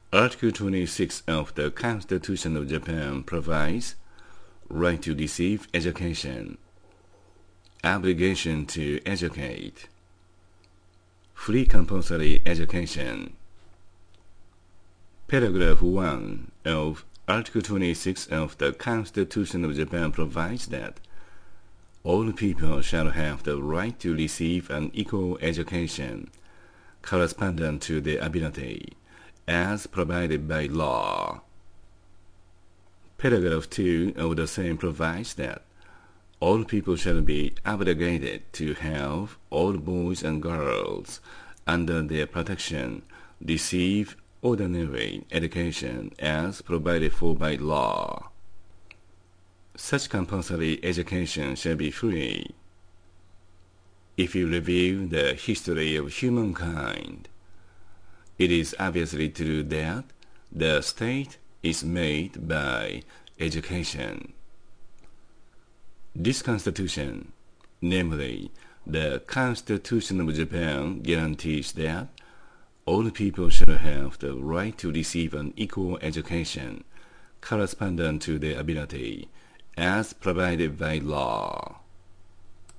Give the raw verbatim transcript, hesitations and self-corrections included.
Article twenty-six of the Constitution of Japan provides right to receive education, obligation to educate, free compulsory education. Paragraph one of Article twenty-six of the Constitution of Japan provides that all people shall have the right to receive an equal education correspondent to their ability, as provided by law. Paragraph two of the same provides that all people shall be obligated to have all boys and girls under their protection receive ordinary education as provided for by law. Such compulsory education shall be free. If you review the history of humankind, it is obviously true that the state is made by education. This Constitution, namely the Constitution of Japan, guarantees that all people shall have the right to receive an equal education correspondent to their ability, as provided by law.